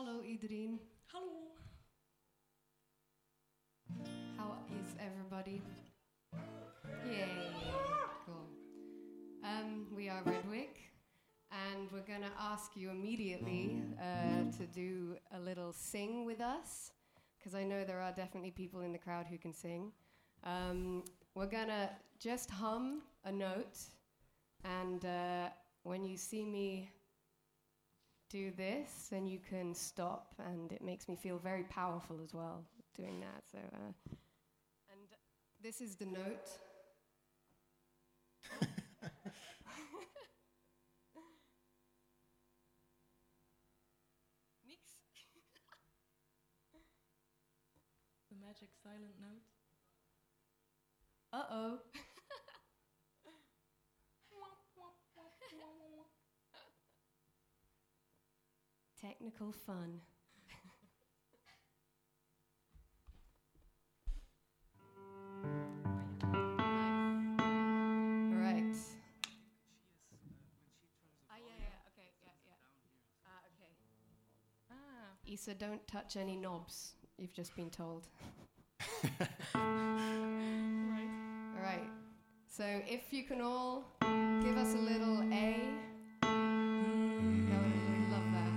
Hallo iedereen. Hallo. How is everybody? Yay. Cool. We are Redwick, and we're going to ask you immediately to do a little sing with us, because I know there are definitely people in the crowd who can sing. We're going to just hum a note, and when you see me do this, then you can stop, and it makes me feel very powerful as well doing that. So, and this is the note. Mix. The magic silent note. Uh-oh. Technical fun. All right. Okay, okay. Issa, don't touch any knobs. You've just been told. Right. All right. So if you can all give us a little A. We'd love that.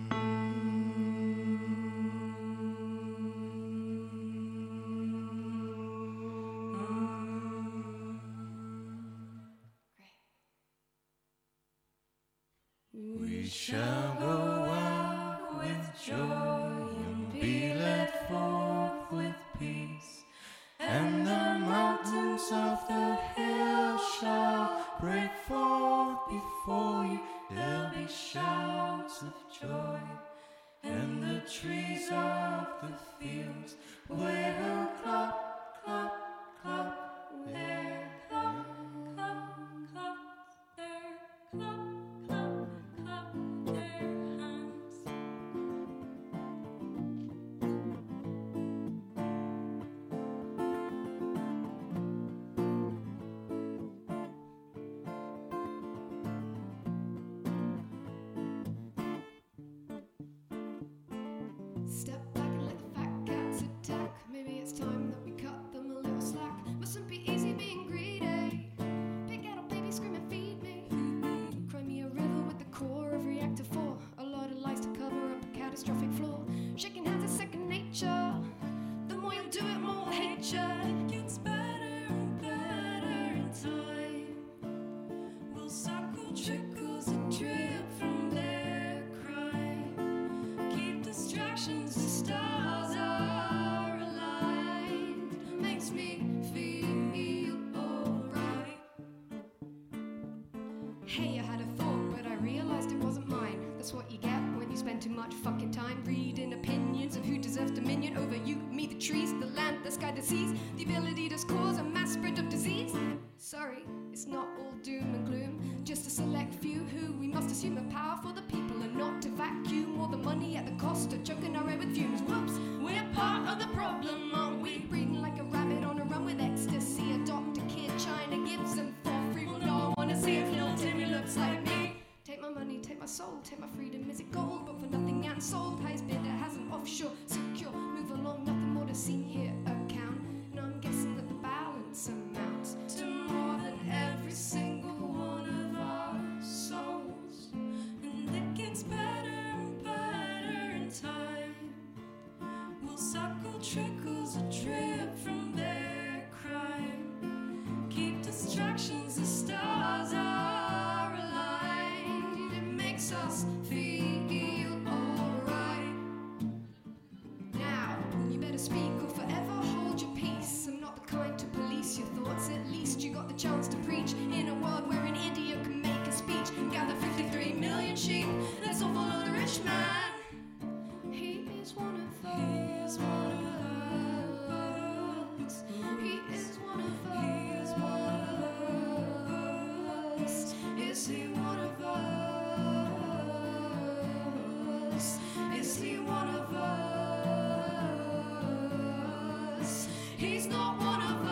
We shall go out with joy and be led forth with peace, and the mountains of the hill shall break forth before you. There'll be shouts of joy, and the trees of the fields will clap, clap, clap their clap, clap, clap their clap, clap, clap their hands. Step back and let the fat cats attack. Maybe it's time that we cut them a little slack. Mustn't be easy being greedy. Big adult baby screaming, feed me. Cry me a river with the core of reactor 4. A lot of lies to cover up a catastrophic flaw. Shaking hands is second nature. The more you do it, more I'll hate ya. It gets better and better in time. We'll suckle trickles that drip from their crime. Keep distractions, the stars are aligned. Makes me feel alright. Hey, I had a thought, but I realized it wasn't mine. That's what you get when you spend too much fucking time reading opinions of who deserves dominion over you, me, the trees, the land, the sky, the seas. The ability to cause a mass spread of disease. Sorry, it's not all doom and gloom. Just a select few who we must assume are power for the people and not to vacuum all the money at the cost of choking our air with fumes. Whoops, we're part of the problem, aren't we? Breathing like a rabbit on a run with ecstasy. Adopt a kid, China gives them for free. Well, no, I wanna see if little Timmy looks like me. Take my money, take my soul, take my freedom. Is it gold? But for nothing and sold. Highest bidder has an offshore secure. Move along, nothing more to see here. Account. And I'm guessing that the balance amounts To more than every single one of our souls. And it gets better and better in time. We'll suckle trickles that drip from their crime. Keep distractions, the stars are aligned. It makes us feel alright. now. You better speak or forever hold your peace. I'm not the kind to police your thoughts. At least you got the chance to preach in a world where an idiot can make a speech. Gather 53 million sheep. Let's all follow the rich man. He is one of us. He is one of us. He is one of He is one of us. Is he one of us? Is he one of us? He's not one of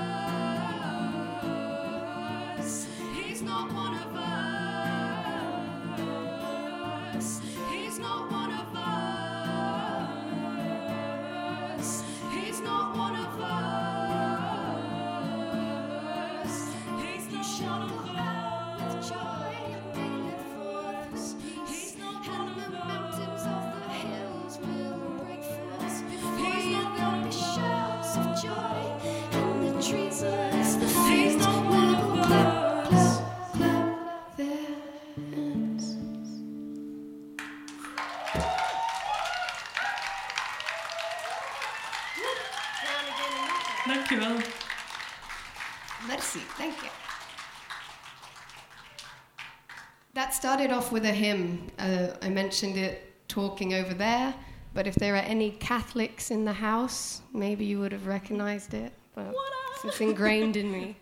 us. He's not one of us. He's not Dankjewel. Merci, thank you. That started off with a hymn. I mentioned it talking over there, but if there are any Catholics in the house, maybe you would have recognized it. But it's ingrained in me.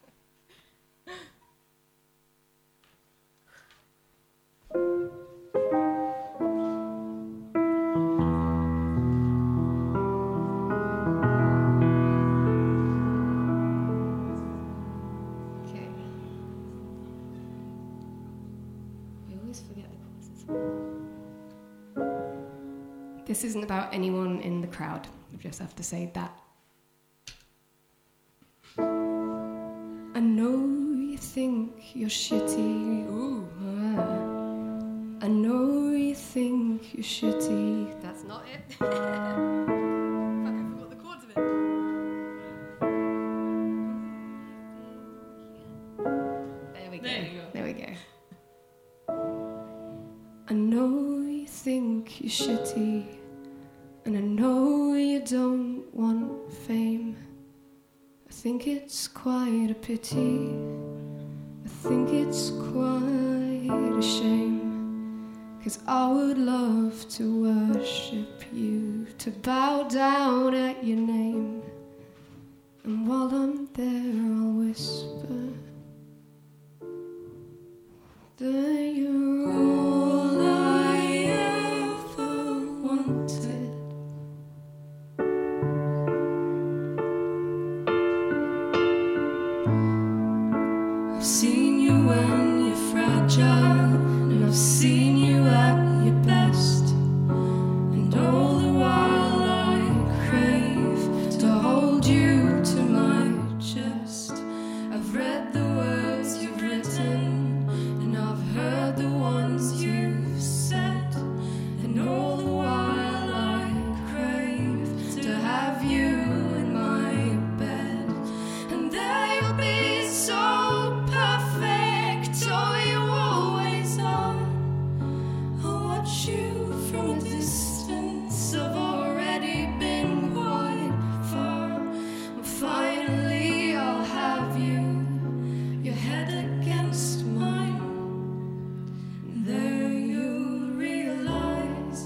This isn't about anyone in the crowd. I just have to say that. I know you think you're shitty. Ooh. I know you think you're shitty. That's not it. Fuck, I forgot the chords of it. There we go. There we go. I know you think you're shitty. And I know you don't want fame. I think it's quite a pity. I think it's quite a shame. 'Cause I would love to worship you, to bow down at your name. And while I'm there I'll whisper that you're all I ever wanted. I've seen you when you're fragile, and I've seen you at your best. And all the while I crave to hold you to my chest. I've read the words you've written, and I've heard the ones you've said. And all the while I crave to have you in my bed. And there you'll be so perfect, oh you always are. I'll watch you from a distance, I've already been quite far. And finally I'll have you, your head against mine. And there you'll realize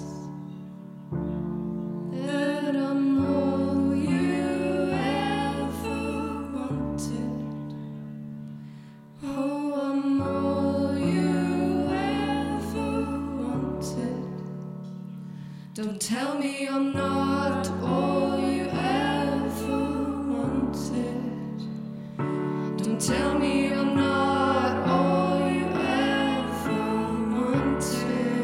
that I'm all you ever wanted. Oh, I'm all you ever wanted. Don't tell me I'm not all you ever wanted. Don't tell me I'm not all you ever wanted.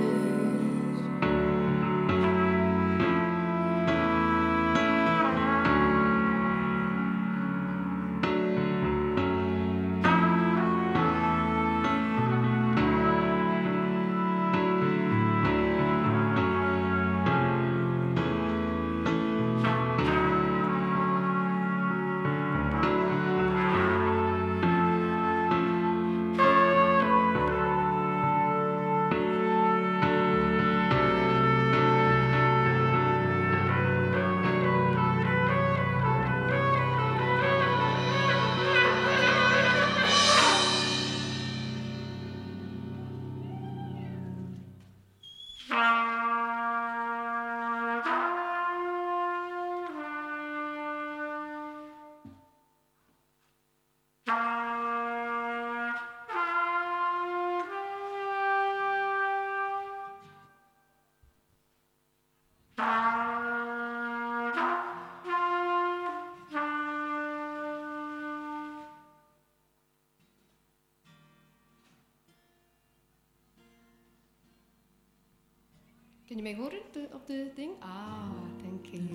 Can you make hold of the thing? Ah, thank you.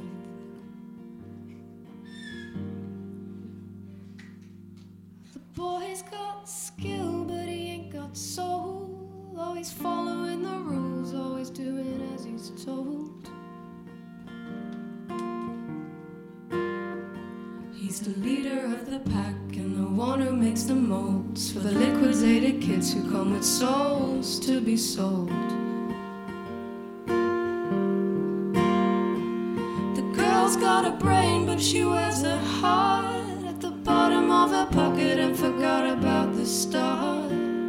The boy's got skill, but he ain't got soul. Always following the rules, always doing as he's told. He's the leader of the pack and the one who makes the molds for the liquidated kids who come with souls to be sold. got a brain, but she wears a heart at the bottom of her pocket and forgot about the start.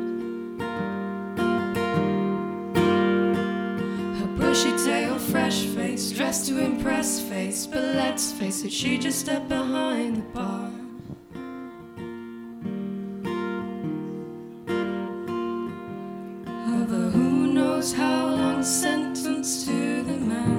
Her bushy tail, fresh face, dressed to impress face, but let's face it, she just stepped behind the bar. Of a who knows how long sentence to the man.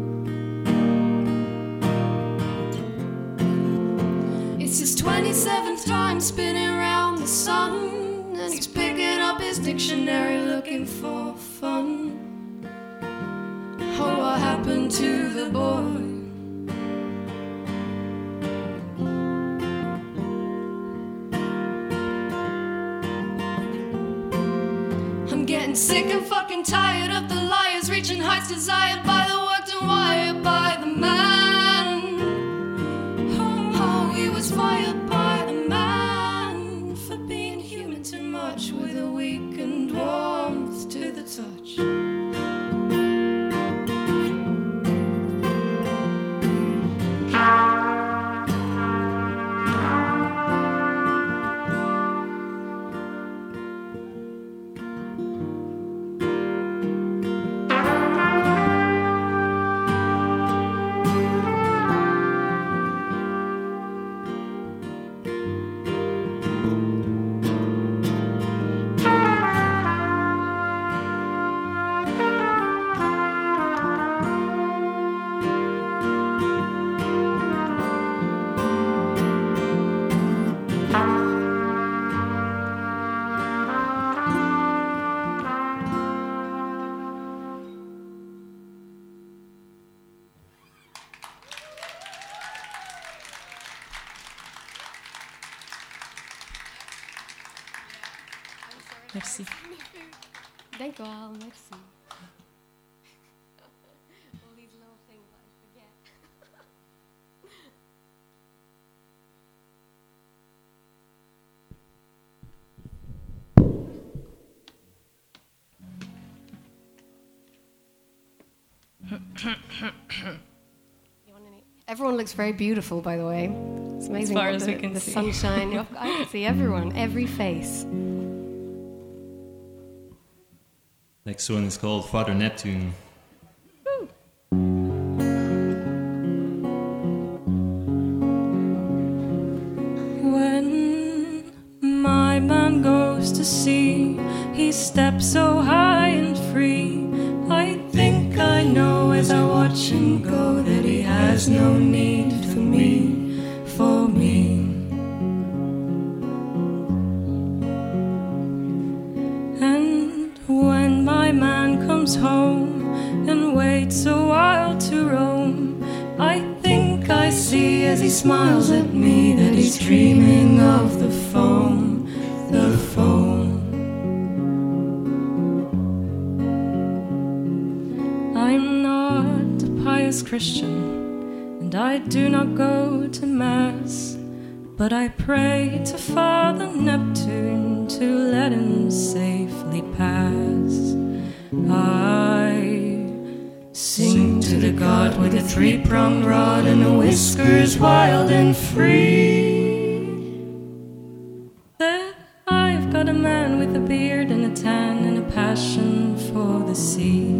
It's his 27th time spinning around the sun, and he's picking up his dictionary looking for fun. Oh, what happened to the boy? I'm getting sick and fucking tired of the liars reaching heights desired by the worked and wired by the man. Oh, he was fired by the man for being human too much, with a weakened warmth to the touch. Merci. D'accord, merci. All these little things I forget. Everyone looks very beautiful, by the way. It's amazing. As far what as the, we can the see. sunshine. I can see everyone, every face. Next one is called Father Neptune. When my man goes to sea, he steps so high and free. I think I know as I watch him go that he has no need for me, for me. And when my man comes home and waits a while to roam, I think I see as he smiles at me that he's dreaming of the foam, the foam. I'm not a pious Christian, and I do not go to Mass, but I pray to Father Neptune to let him safely pass. I sing to the god with a three-pronged rod and the whiskers wild and free, that I've got a man with a beard and a tan and a passion for the sea.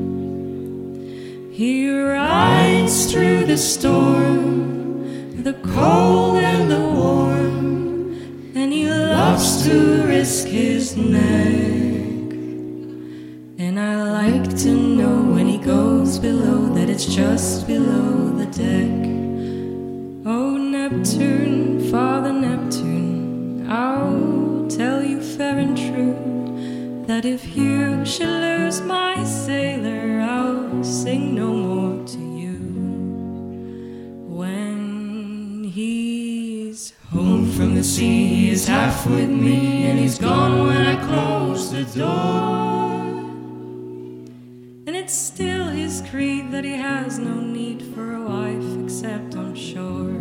He rides through the storm, the cold and the warm, and he loves to risk his neck. And I like to know when he goes below that it's just below the deck. Oh, Neptune, Father Neptune, I'll tell you fair and true that if you should lose my sailor, I'll sing no more to you. When he's home from the sea, he is half with me, and he's gone when I close the door. And it's still his creed that he has no need for a wife except on shore.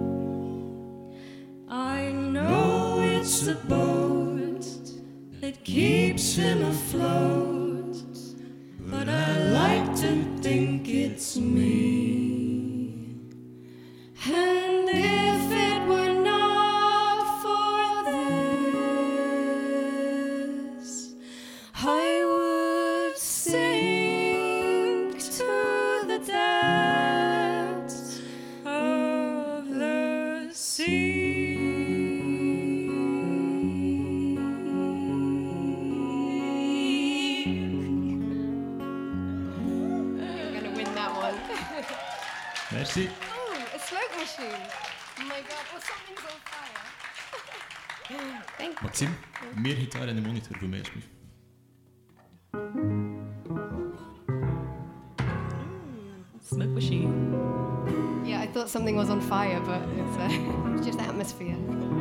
I know it's a boat that keeps him afloat, but I like to think it's me. Merci. Oh, a smoke machine. Oh my god, well, something's on fire. Thank you. Maxime, meer gitaar in de monitor voor mij, alsjeblieft. Smoke machine. Yeah, I thought something was on fire, but it's just atmosphere.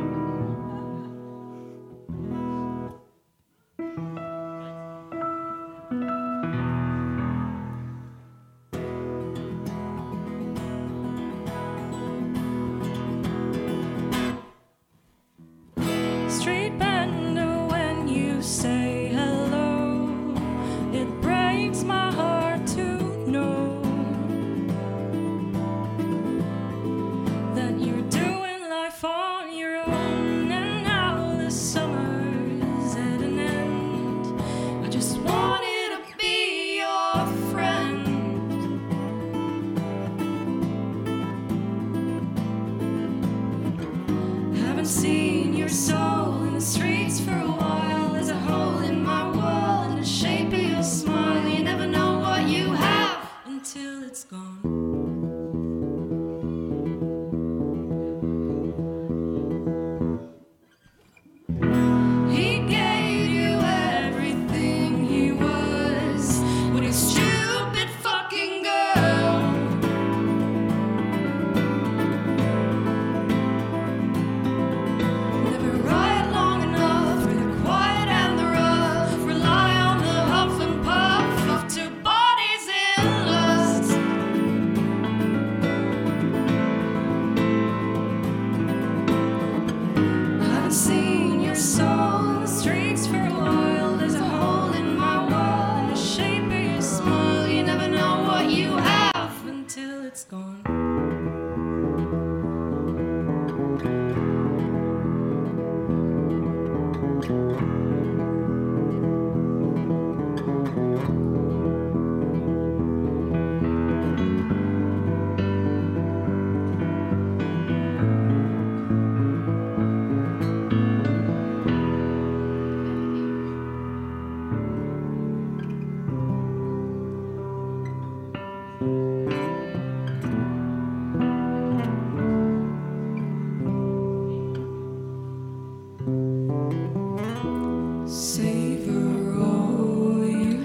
Street bender, when you say hello, it breaks my heart to know that you're doing life on your own, and now the summer's at an end. I just wanted to be your friend. Haven't seen your soul in the streets for a while. There's a hole in my wall in the shape of your smile. You never know what you have until it's gone. He gave you everything he was with his stupid fucking girl. Never ride long enough for the quiet and the rough. Rely on the huff and puff of two bodies in lust. Haven't seen your soul in the streets for a while. There's a hole in my wall in the shape of your smile. You never know what you have until it's gone. Savor all you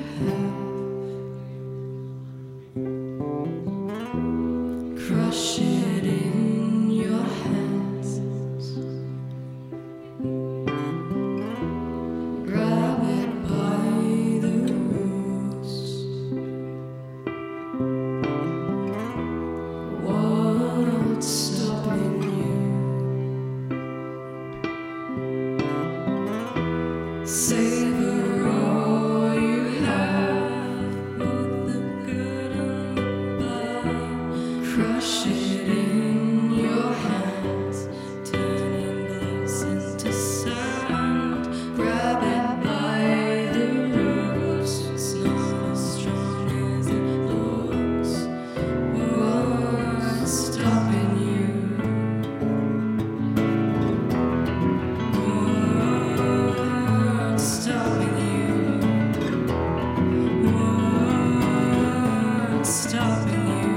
have. Crush it in your hands. Grab it by the roots. What's stopping you? Savor all you have, both the good and the bad. Crush it in your hands, turning glass into sand. Grab it by the roots, it's not as strong as it looks. What's stopping you? What's stopping you? What's stopping you?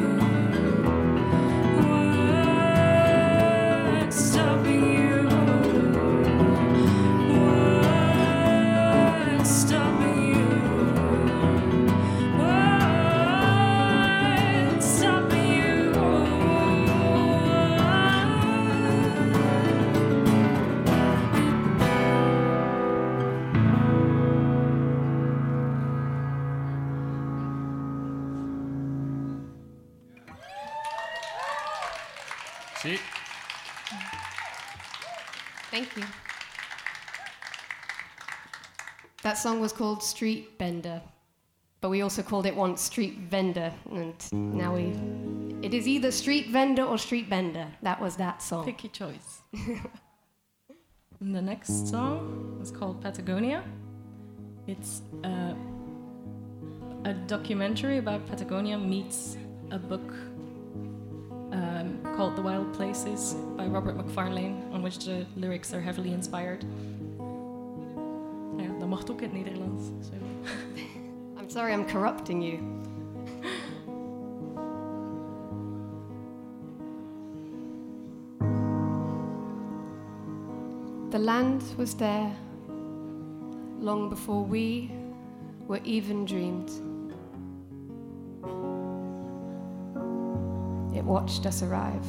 What's stopping you? What's stopping you? What's stopping you? Zie. Thank you. That song was called Street Bender, but we also called it once Street Vendor, and now it is either Street Vendor or Street Bender. That was that song. Pick your choice. And the next song is called Patagonia. It's a documentary about Patagonia meets a book called The Wild Places by Robert McFarlane, on which the lyrics are heavily inspired. Ja, dat mag ook in het Nederlands. So. I'm sorry I'm corrupting you. The land was there long before we were even dreamed. It watched us arrive.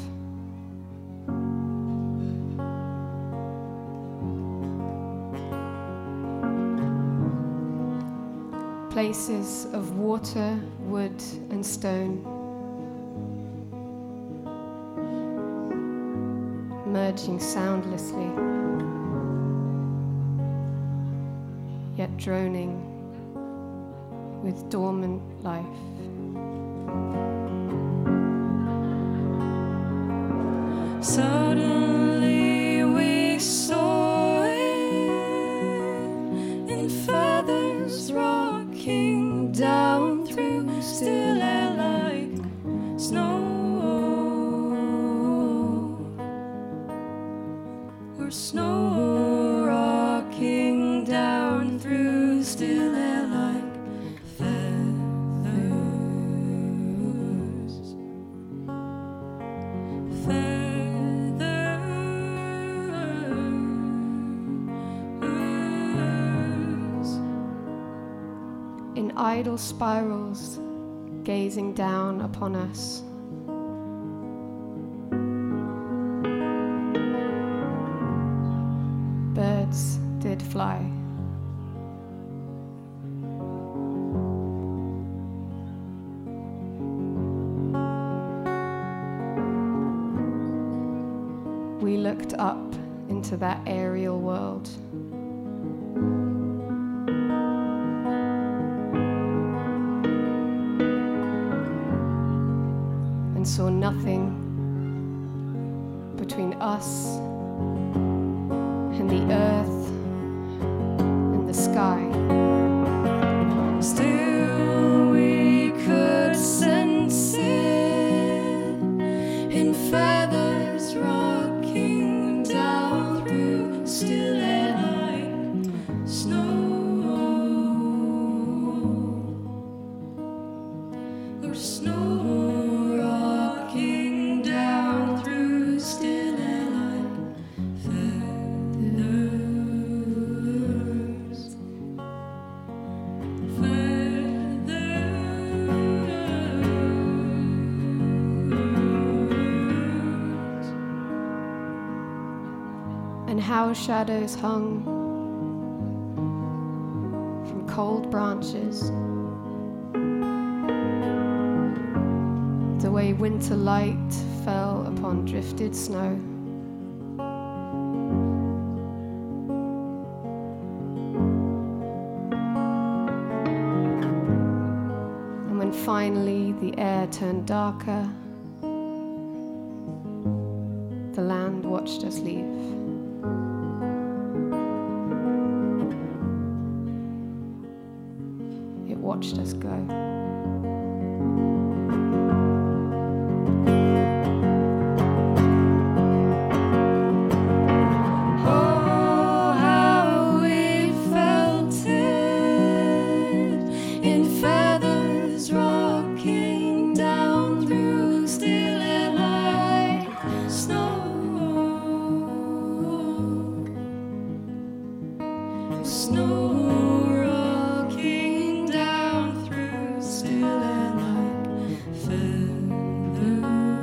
Places of water, wood, and stone, merging soundlessly, yet droning with dormant life. Suddenly we saw it in feathers rocking down through still air like snow, or snow rocking down through still air like feathers. In idle spirals, gazing down upon us. Birds did fly. We looked up into that aerial world. And saw nothing between us and the earth and the sky. Still we could sense it in feathers rocking down through still air like snow, or snow rocking down through still air like feathers. And how shadows hung from cold branches, the way winter light fell upon drifted snow. And when finally the air turned darker, the land watched us leave. It watched us go. Oh, how we felt it in feathers rocking down through still air like snow. Snow rocking down through still air like feathers.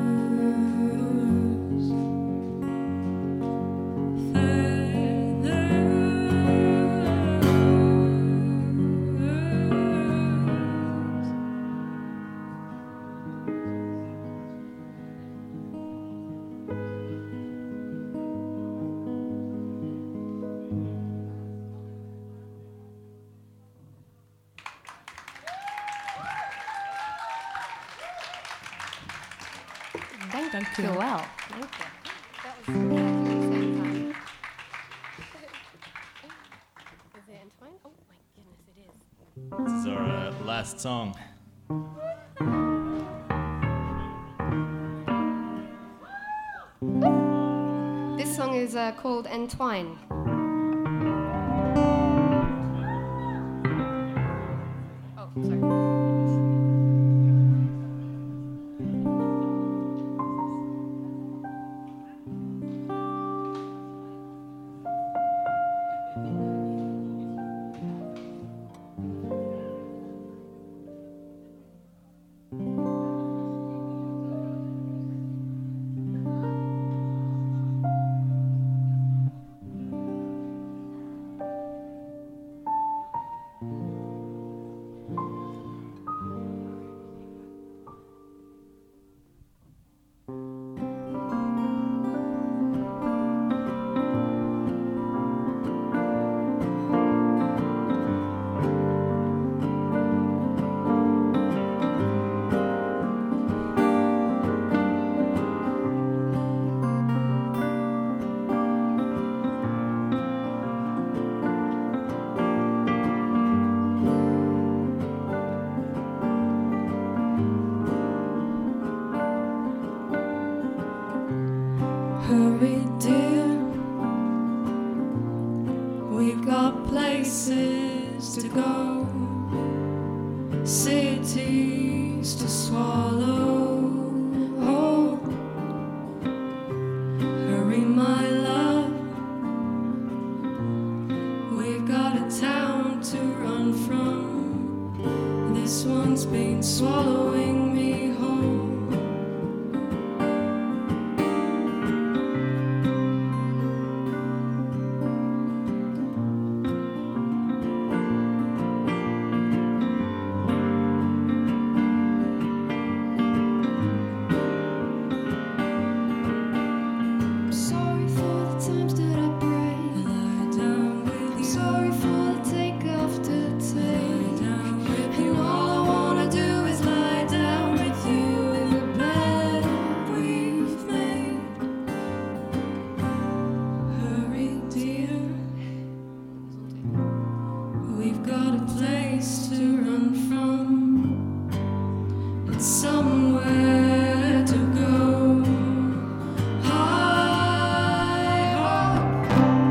Dank je wel. This is our last song. This song is called Entwine. Oh, sorry. Hurry, dear. We've got places to go, cities to swallow. Oh, hurry, my love. We've got a town to run from. This one's been swallowing me whole. Sorry for the times that I break. Lie down with you. Sorry for the take after take. Down with you. And all I wanna do is lie down with you in the bed we've made. Hurry, dear. We've got a place to run from. It's somewhere to go. High up.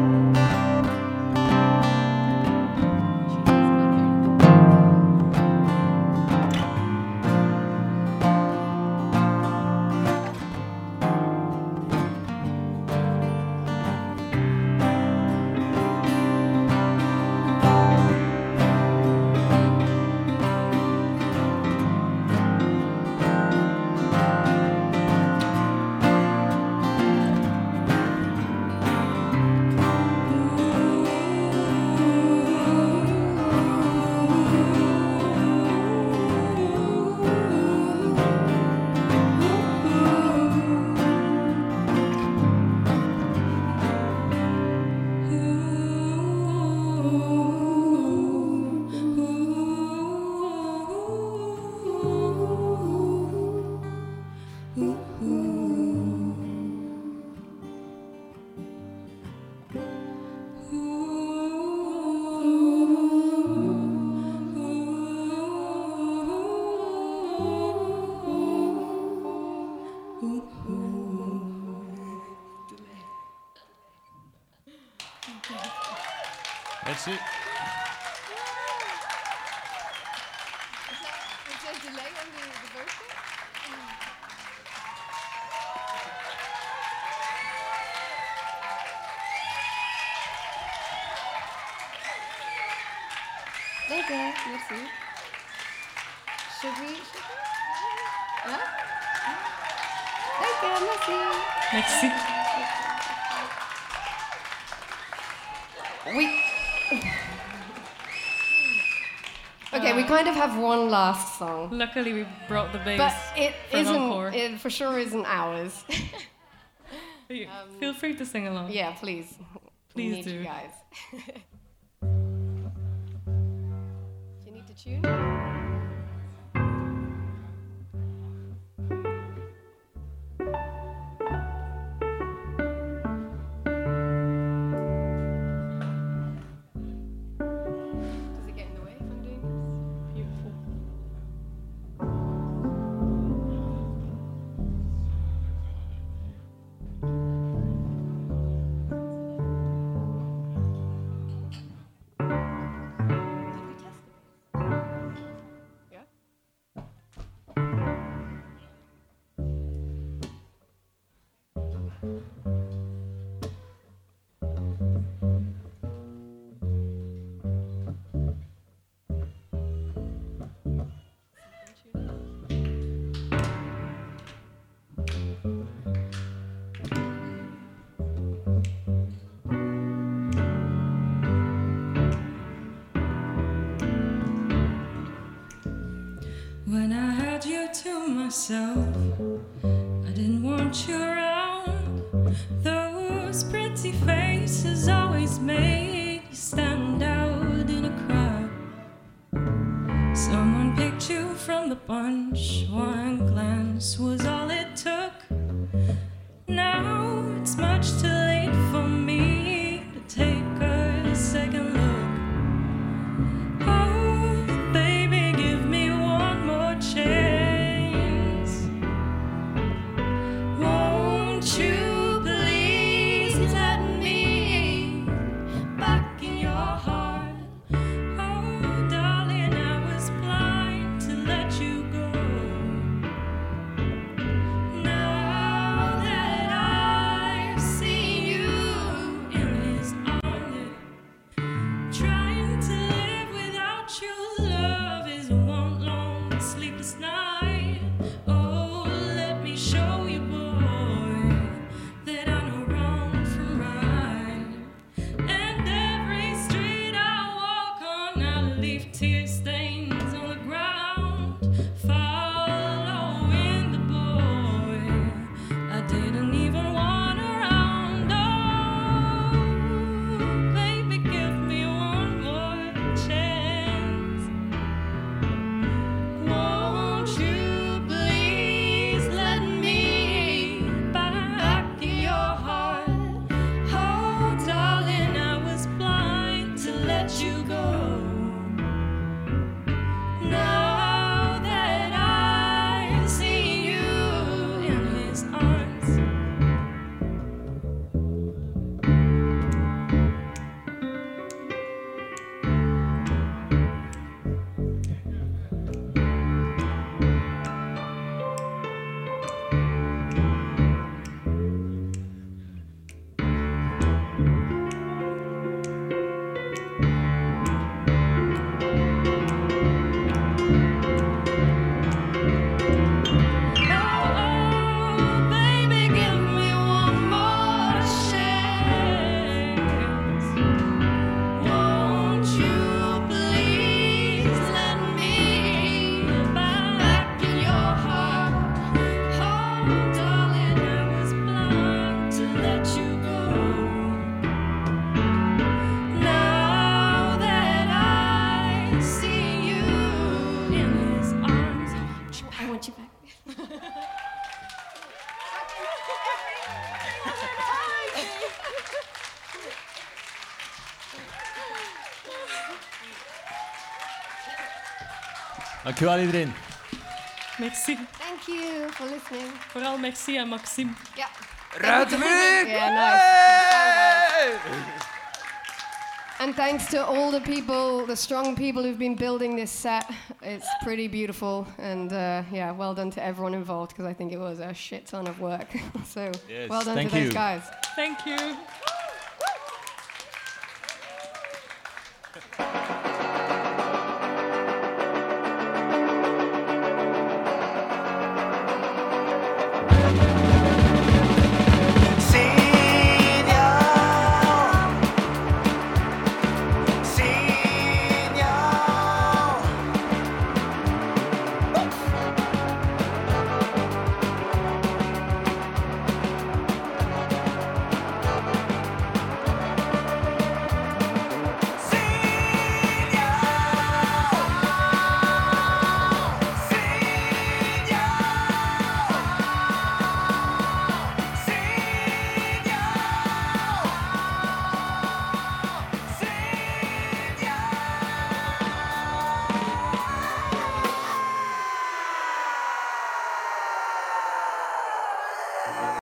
That's it. Is there a delay on the vocal? D'accord, merci. Should we? Hein? D'accord, merci. Merci. Okay, we kind of have one last song, Luckily, we brought the bass. but it for an encore. isn't. It for sure isn't ours. Feel free to sing along. Yeah, please. We Please need do. you guys. Do you need to tune? Does it get in the way if I'm doing this? Beautiful. Did we test it? Yeah? When I had you to myself, I didn't want you around. Those pretty faces always made you stand out in a crowd. Someone picked you from the bunch. One glance was all it took. Now it's much too late for me to take a second look. Oh, baby, give me one more chance. Won't you please? want you back. Dankjewel iedereen. Merci. Thank you for listening. Vooral merci aan Maxime. Yeah. Ruitenwijk! Yeah, nice. And thanks to all the people, the strong people who've been building this set. It's pretty beautiful. And yeah, well done to everyone involved because I think it was a shit ton of work. So Yes, well done thank to those you. guys. Thank you.